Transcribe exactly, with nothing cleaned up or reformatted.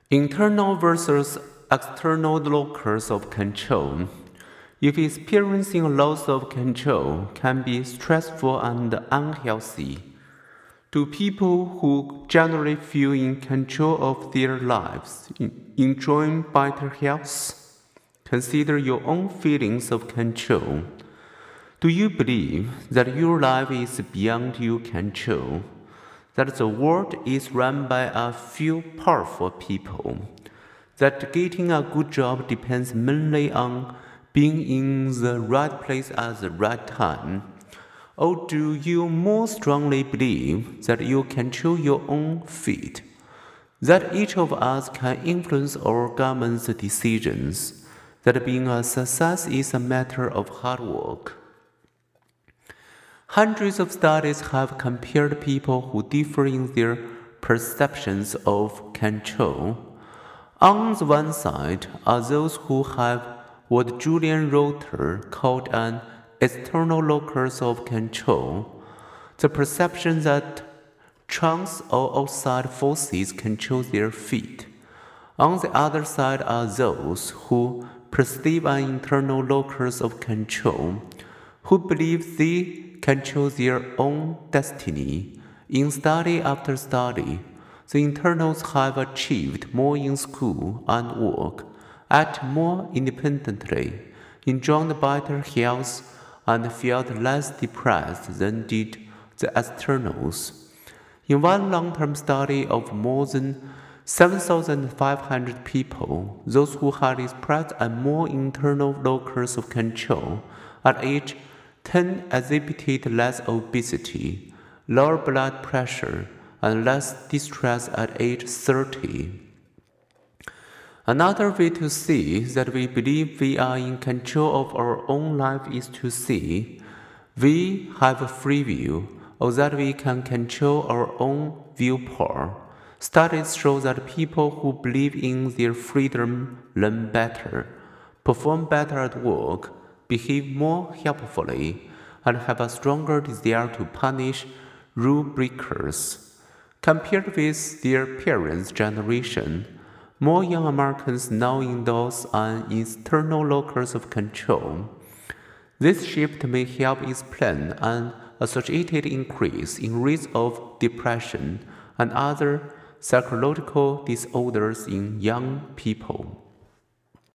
Internal versus external locus of control. If experiencing a loss of control can be stressful and unhealthy, do people who generally feel in control of their lives enjoy better health? Consider your own feelings of control. Do you believe that your life is beyond your control? That the world is run by a few powerful people? That getting a good job depends mainly on being in the right place at the right time? Or do you more strongly believe that you control your own fate? That each of us can influence our government's decisions? That being a success is a matter of hard work? Hundreds of studies have compared people who differ in their perceptions of control. On the one side are those who have what Julian Rotter called an external locus of control, the perception that chance or outside forces control their fate. On the other side are those who perceive an internal locus of control, who believe they control their own destiny. In study after study, the internals have achieved more in school and work, act more independently, enjoyed better health, and felt less depressed than did the externals. In one long-term study of more than seven thousand five hundred people, those who had expressed a more internal locus of control at age ten exhibited less obesity, lower blood pressure, and less distress at age thirty. Another way to see that we believe we are in control of our own life is to see we have a free will, or that we can control our own willpower. Studies show that people who believe in their freedom learn better, perform better at work, behave more helpfully, and have a stronger desire to punish rule breakers. Compared with their parents' generation, more young Americans now endorse an external locus of control. This shift may help explain an associated increase in risk of depression and other psychological disorders in young people.